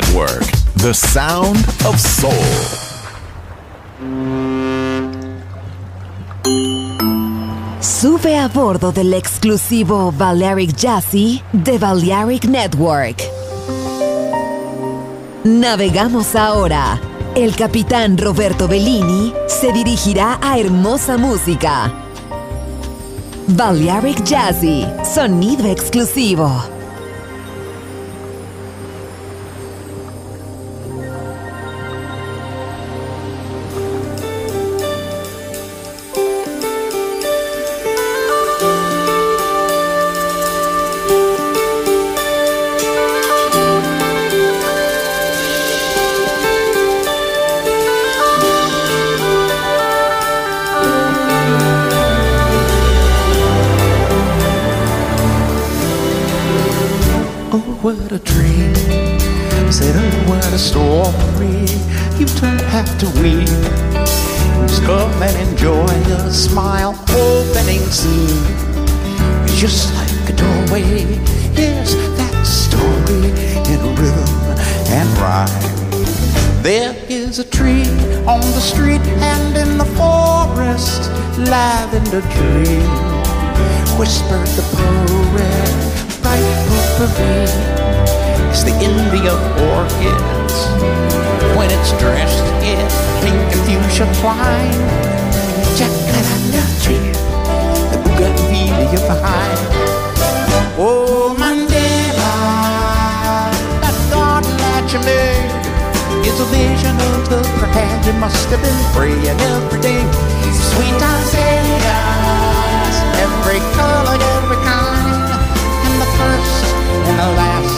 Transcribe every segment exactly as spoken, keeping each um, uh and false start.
Network, the sound of soul. Sube a bordo del exclusivo Balearic Jazzy de Balearic Network. Navegamos ahora. El capitán Roberto Bellini se dirigirá a hermosa música. Balearic Jazzy, sonido exclusivo. What a dream, said oh what a story, you don't have to weep, just come and enjoy a smile opening scene, it's just like a doorway, yes that story in rhythm and rhyme. There is a tree on the street and in the forest, lavender dream, whispered the poet, bright potpourri. It's the India orchids when it's dressed in pink and fuchsia twine. Jacaranda tree, the bougainvillea behind. Oh, Mandela, that thought that you made is a vision of the grand. You must have been praying every day. Sweet azaleas, every color, every kind, and the first and the last.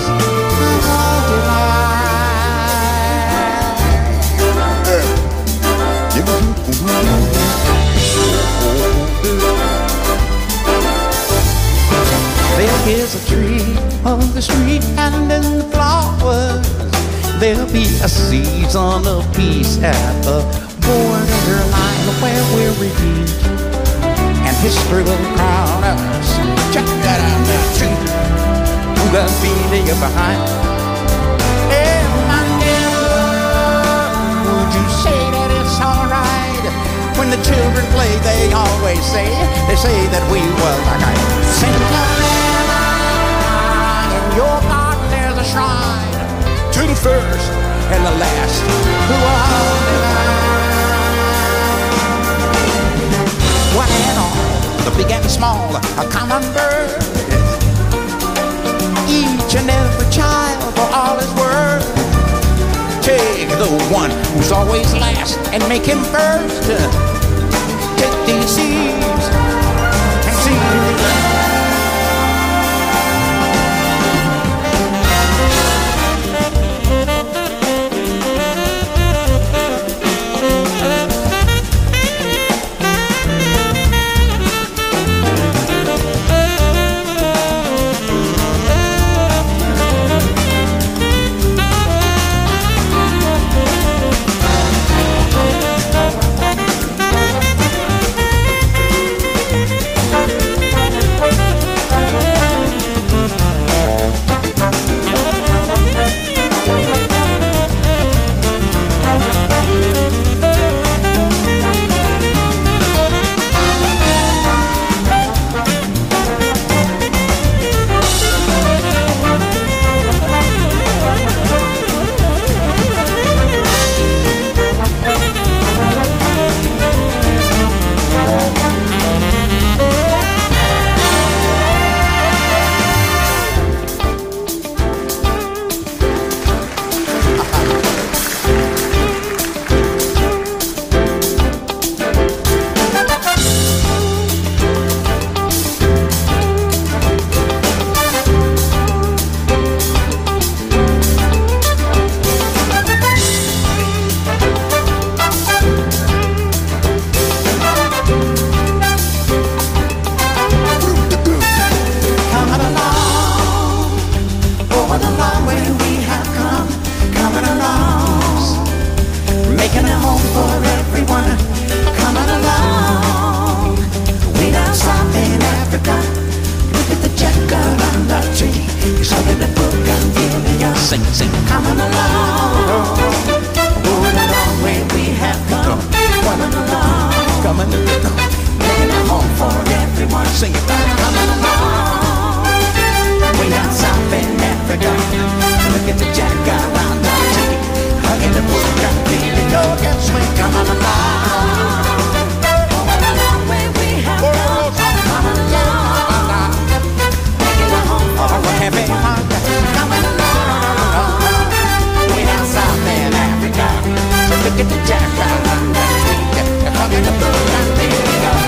There is a tree on the street and in the flowers. There'll be a season of peace at the borderline where we're redeemed, and history will crown us. Check that out, that tree. Who got feeling behind? Hey, Mandela, would you say that it's alright? When the children play, they always say, they say that we were like I Cinderella. In your garden there's a shrine to the first and the last who are divine. One and all, the big and small, a common bird. Each and every child for all his worth. Take the one who's always last and make him first. Take these seeds and see. sing, sing. Coming along. coming to the door, making a home for everyone. Sing it, coming along. Way down south in Africa, look at the jacaranda, hugging the bush, got the dog and swing, coming along. Coming along where we have gone, coming along, making a home for everyone. Coming along, way down south in Africa, look at the jacaranda, hugging the bush, got the dog.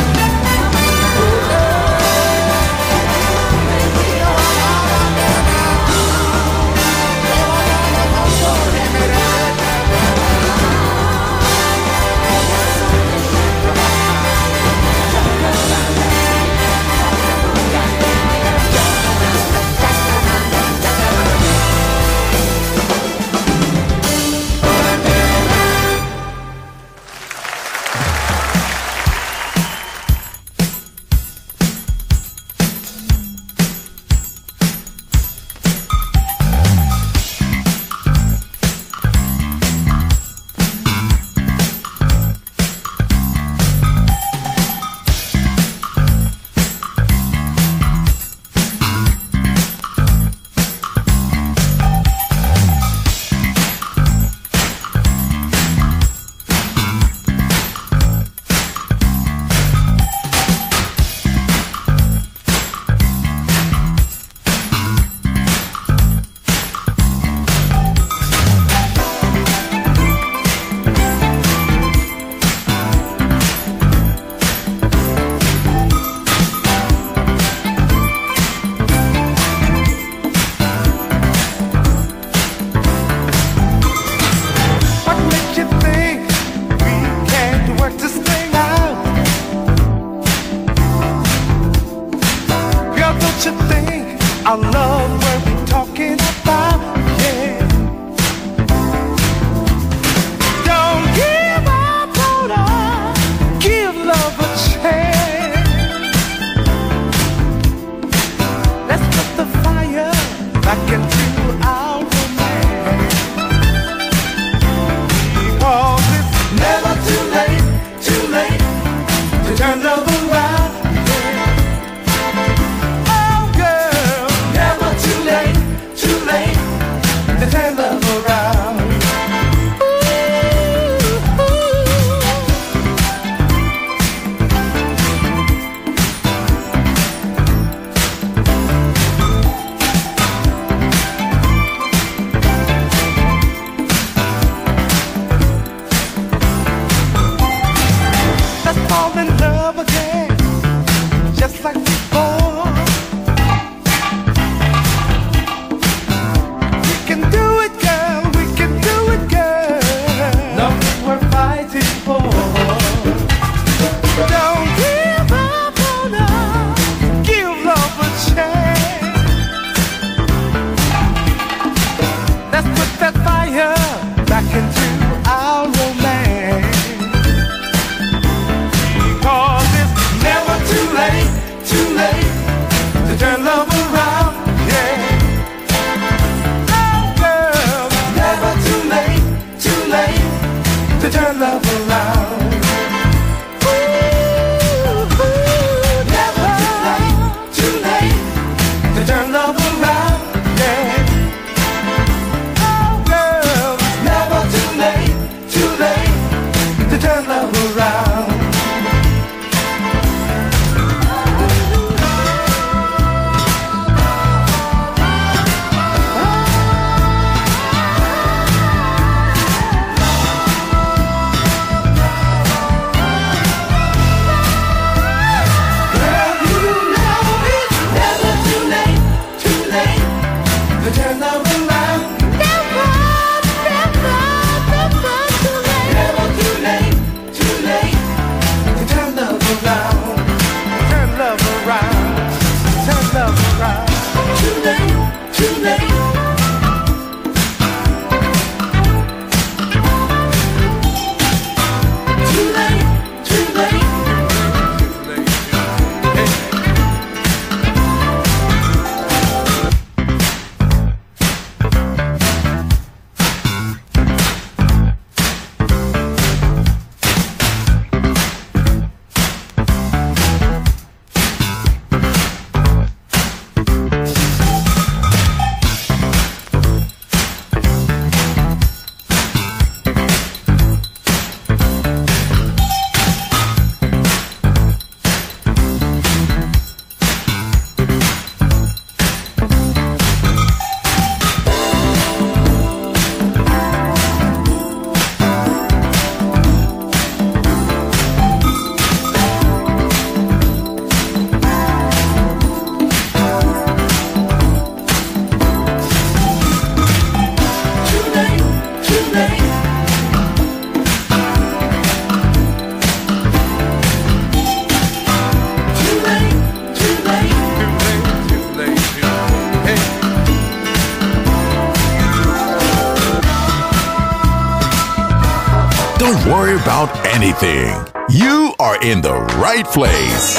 about anything, you are in the right place.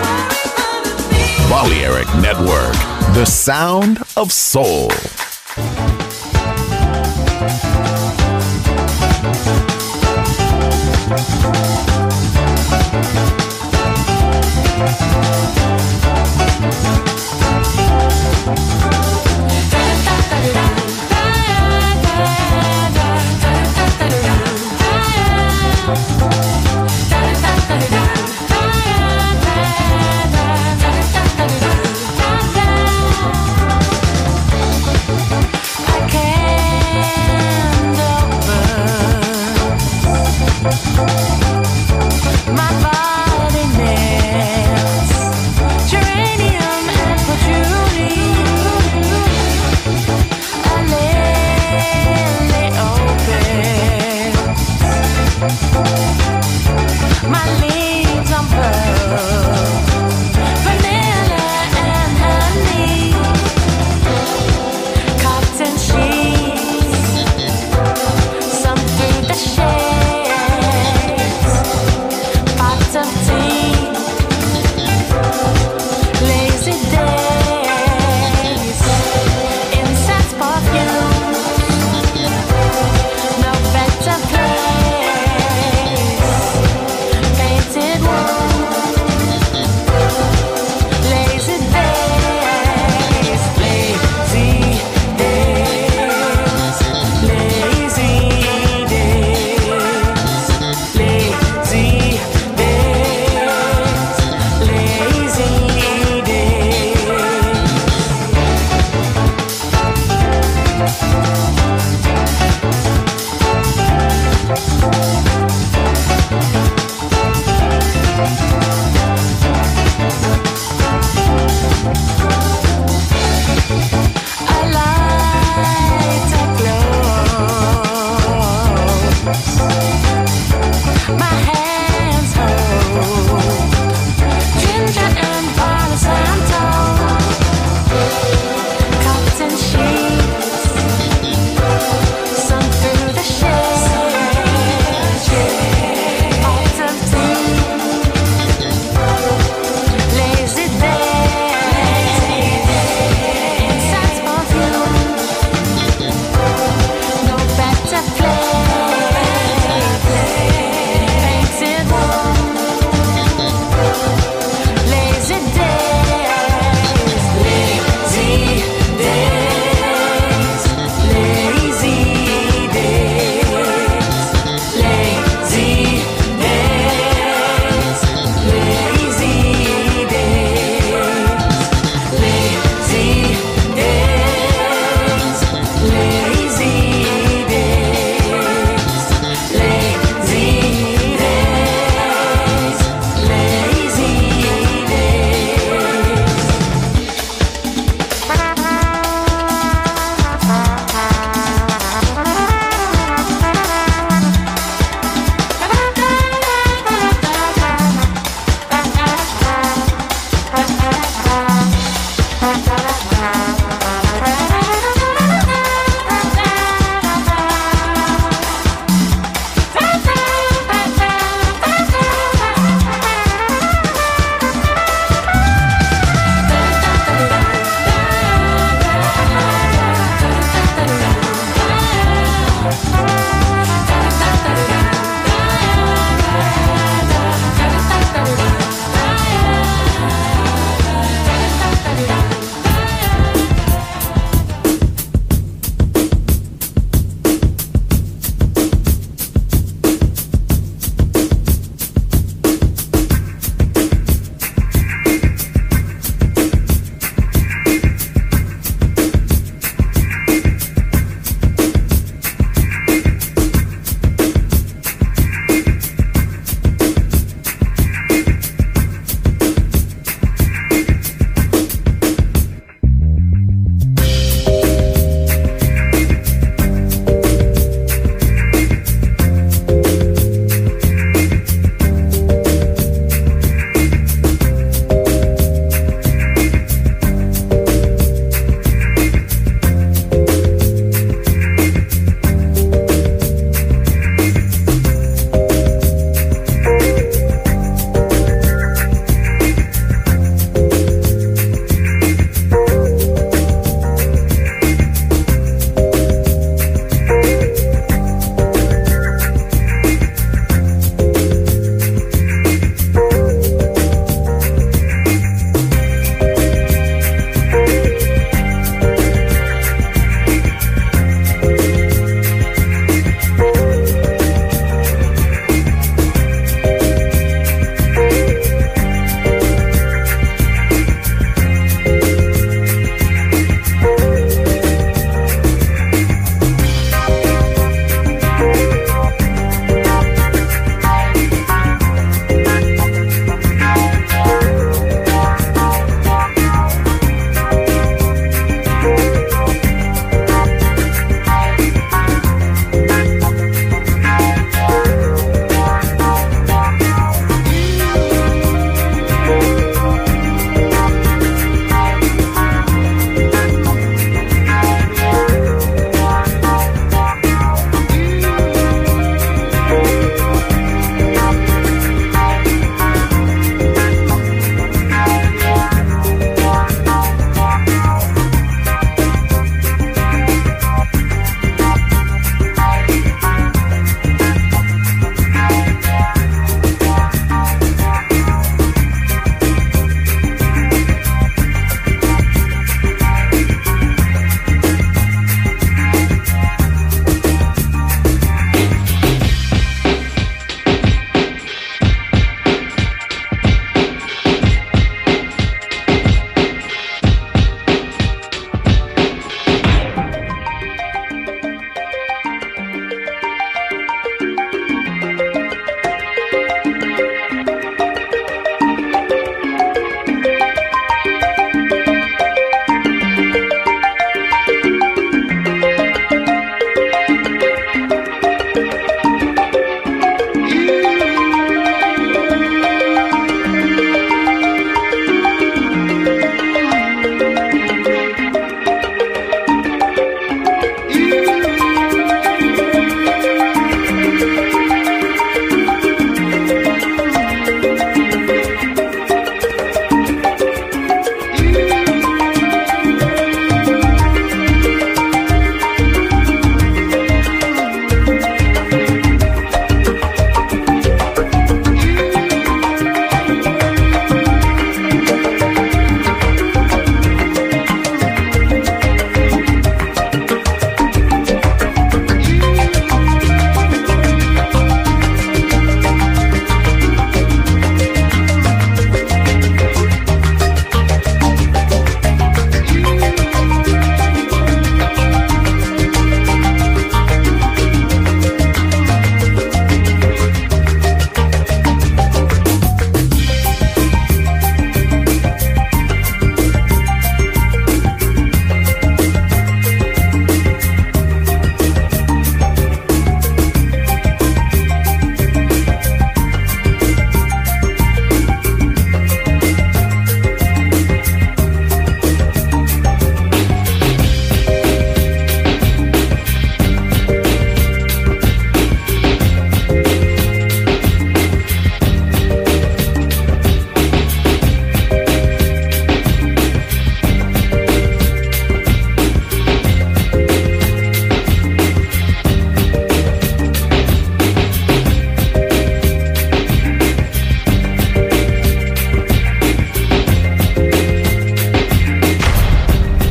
Balearic Network, the sound of soul.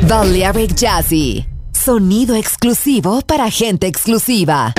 Balearic Jazzy. Sonido exclusivo para gente exclusiva.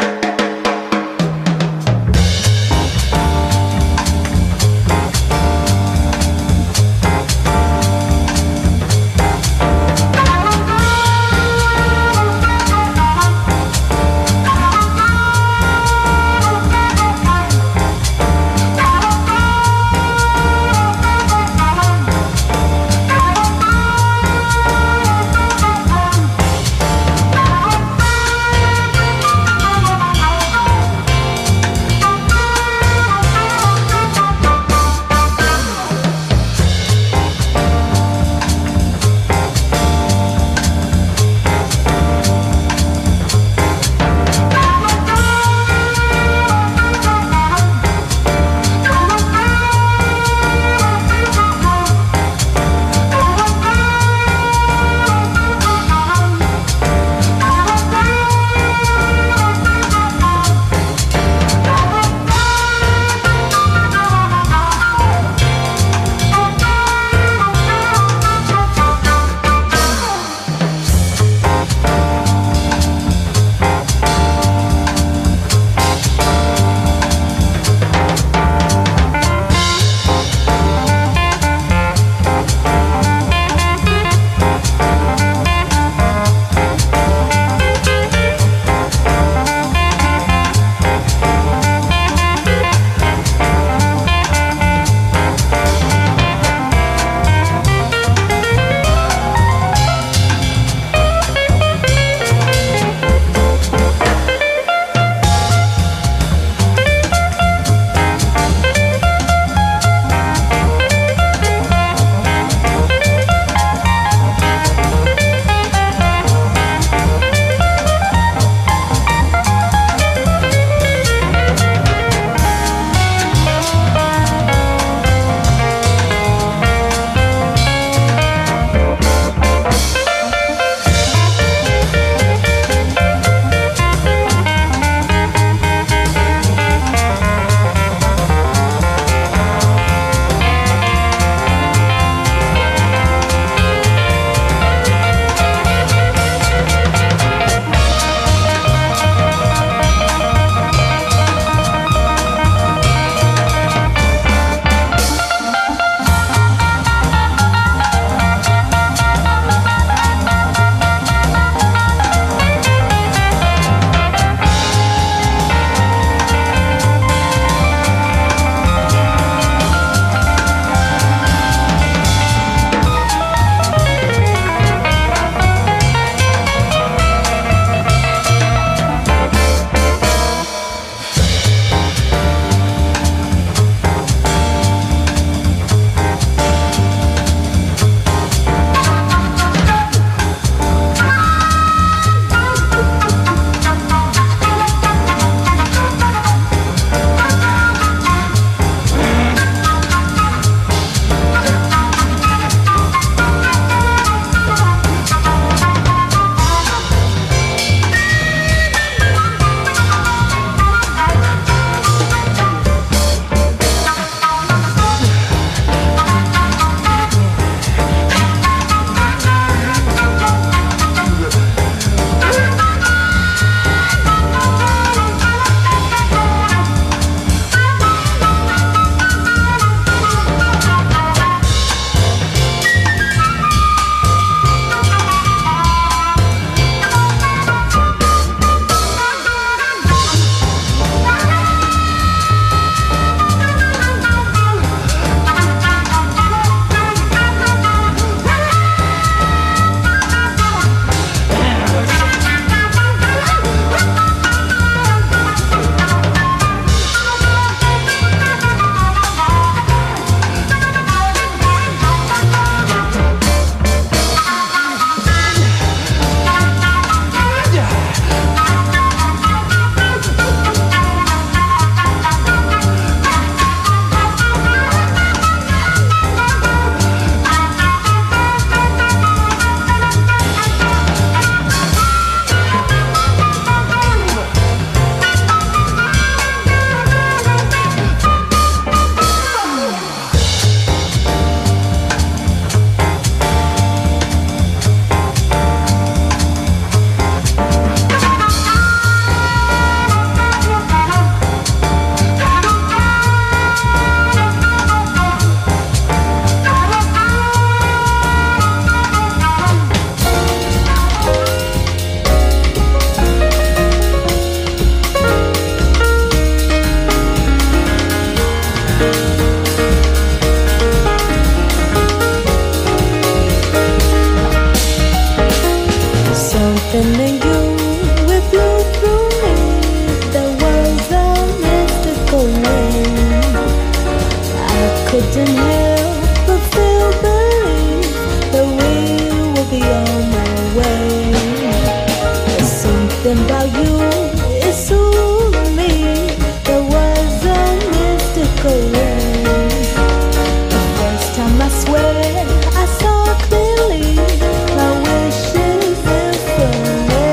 Something in you, it blew through me. There was a mystical ring. I couldn't help but feel believe that we will be on our way. There's something about you, it soothed me. There was a mystical ring. The first time I swear I saw clearly my wishes in full.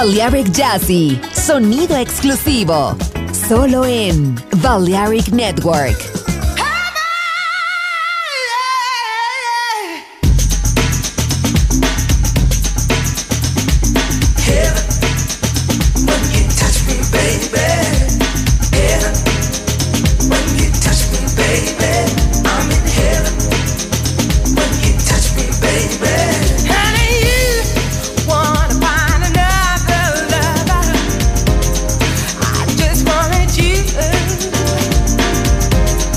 Balearic Jazzy, sonido exclusivo, solo en Balearic Network. I just wanted you.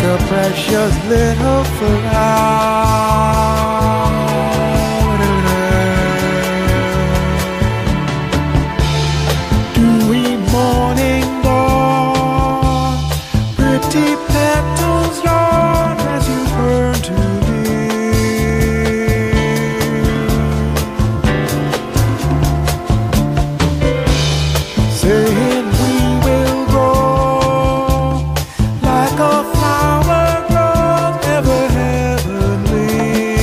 a precious little flower. Dewy morning dawn, pretty petals yawn as you turn to leave, saying we will grow like a flower grows ever heavenly.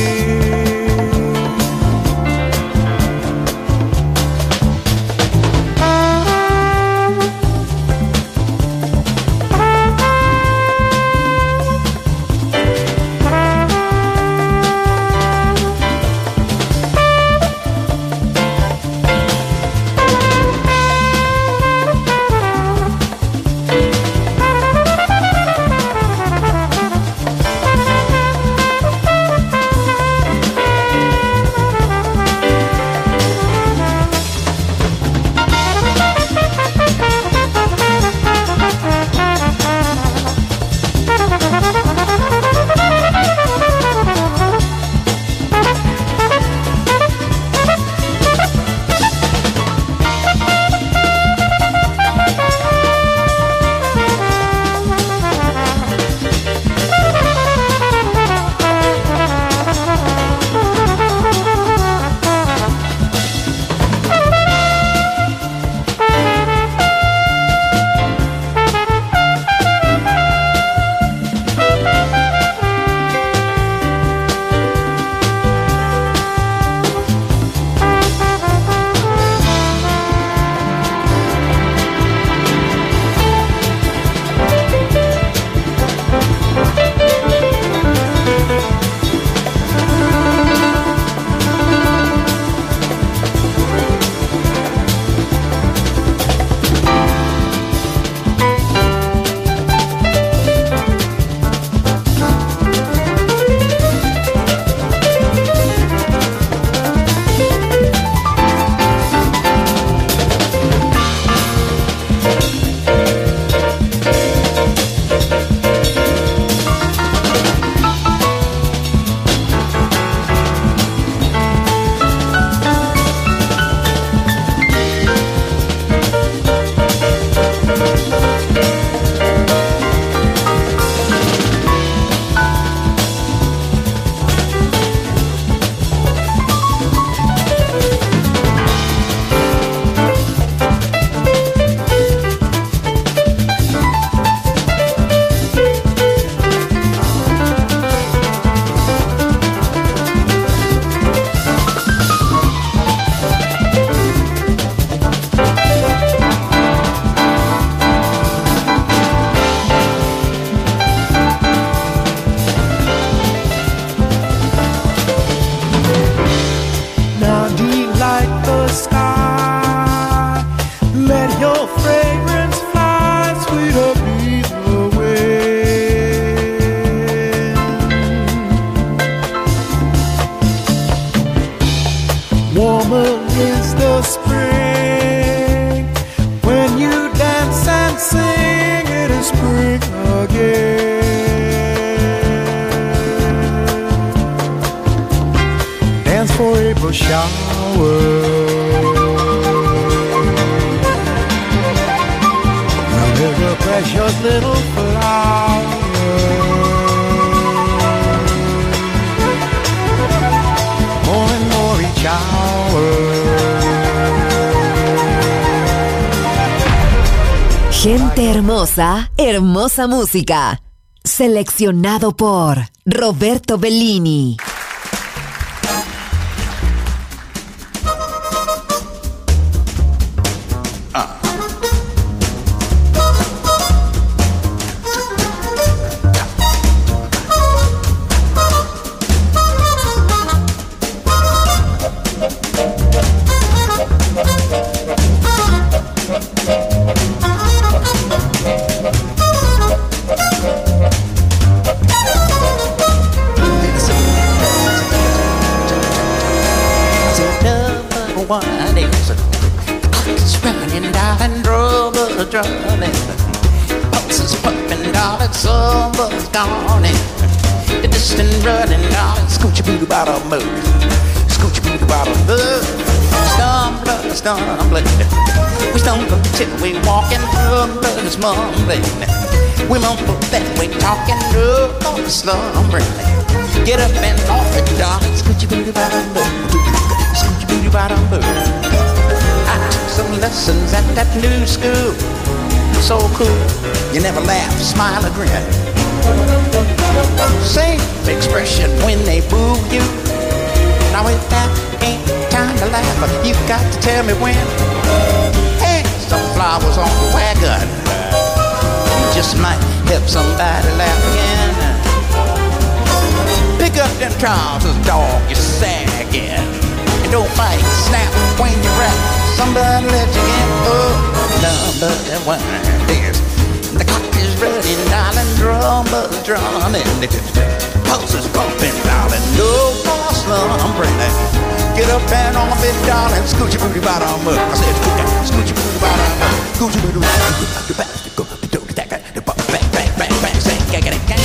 Gente hermosa, hermosa música. Seleccionado por Roberto Bellini. Drumming, pulses pumping, darling. darling, summer's gone and the distant running, darling, scoochie booty bottom move, scoochie booty bottom move. Stumbling, stumbling, we stumble till we walking through the mumbling. We mumble that we talking through the slumbering. Get up and off it, darling, scoochie booty bottom move, scoochie booty bottom move. I took some lessons at that new school, so cool. You never laugh, smile or grin. Same expression when they boo you. Now if that ain't time to laugh, you got to tell me when. Hey, some flowers on the wagon, you just might help somebody laugh again. Pick up them trousers, dog, you're sagging. And don't fight, snap when you rap. Somebody let you in. Oh, number one is the clock is running, darling, drum buzz drumming. The pulse is pumping, darling, no more slumbering. Get up and off it, darling, scoochie booty bottom up. I said scoochie booty bottom up, scoochie booty bottom up. The bastard go, the dog attack, the bang bang bang bang, say gang gang gang.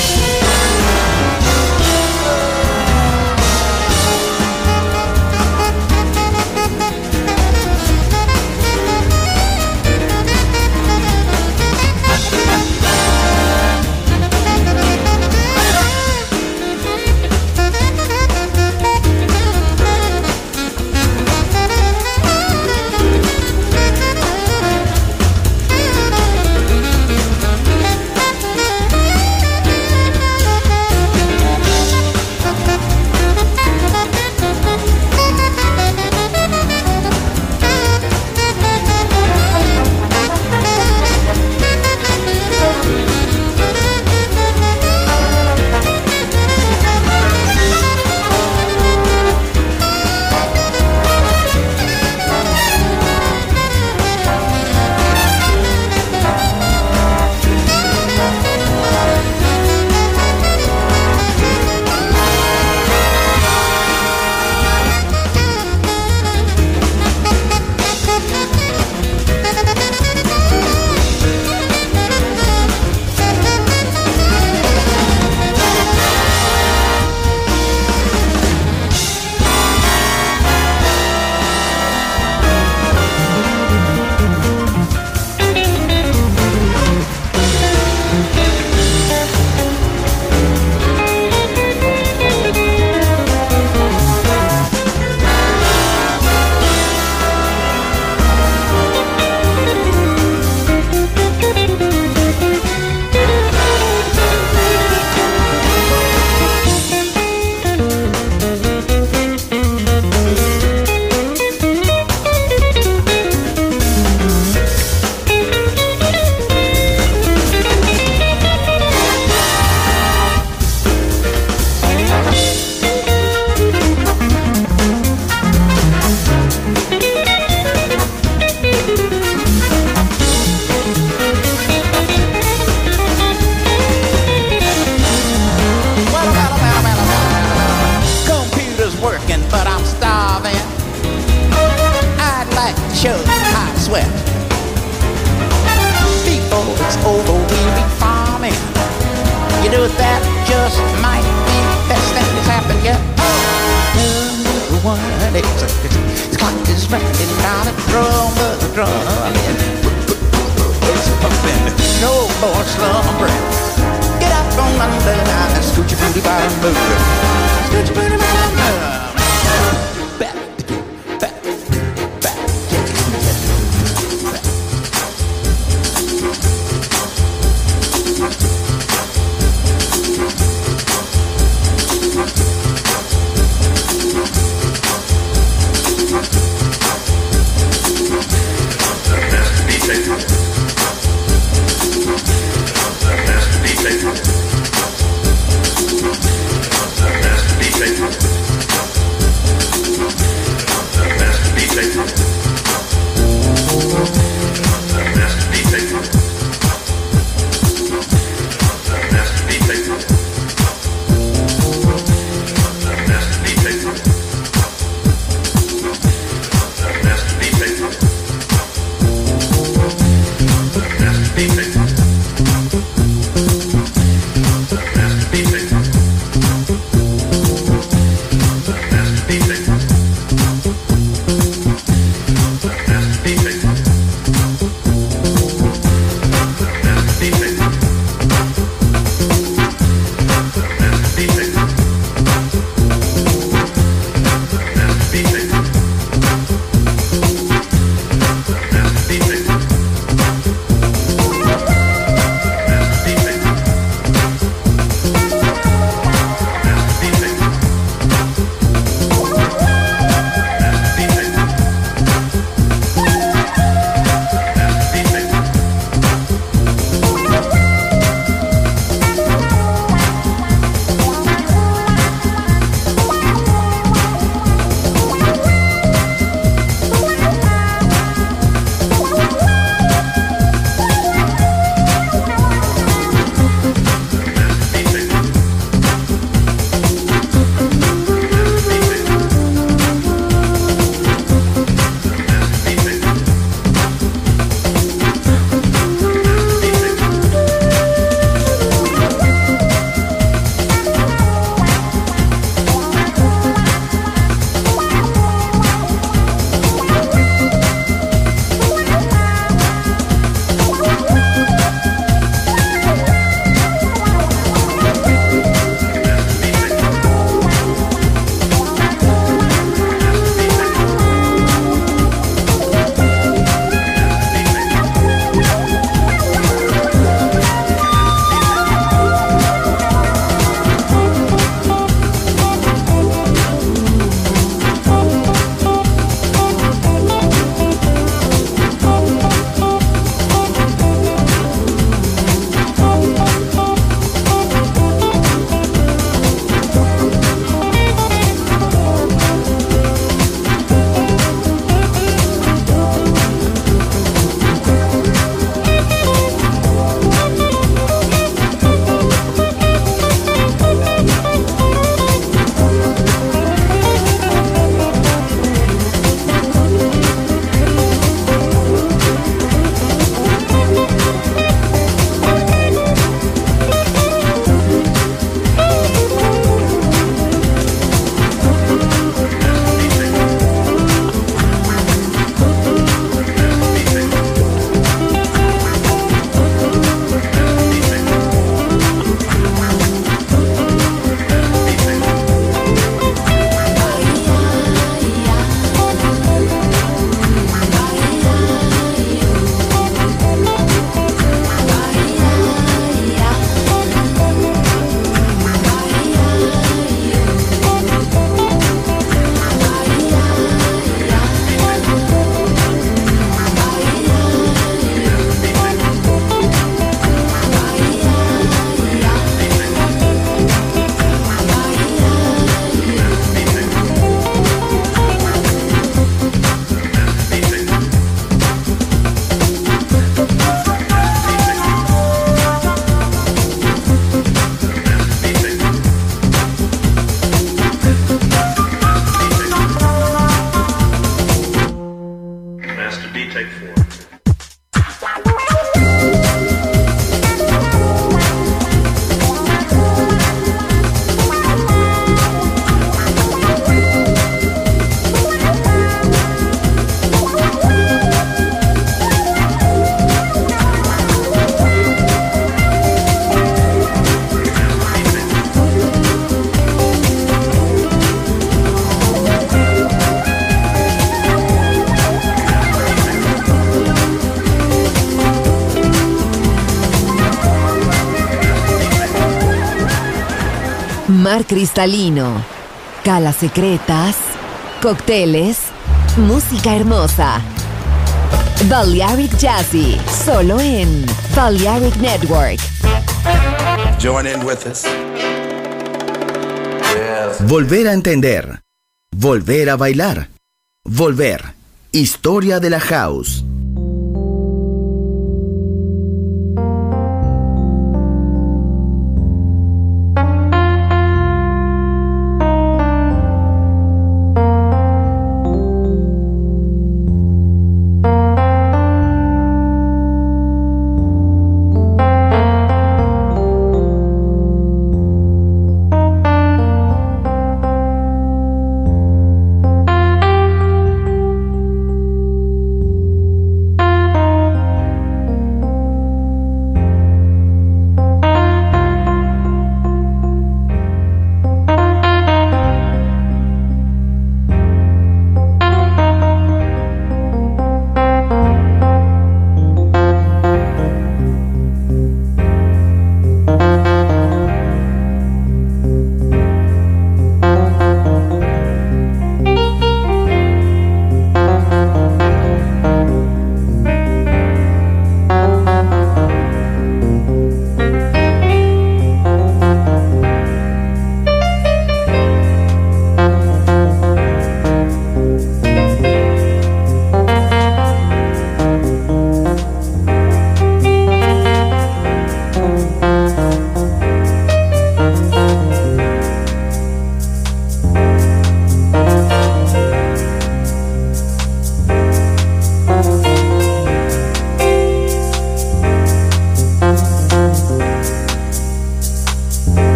mar cristalino, calas secretas, cócteles, música hermosa. Balearic Jazzy, solo en Balearic Network. Join in with us. Yes. Volver a entender. Volver a bailar. Volver. Historia de la house.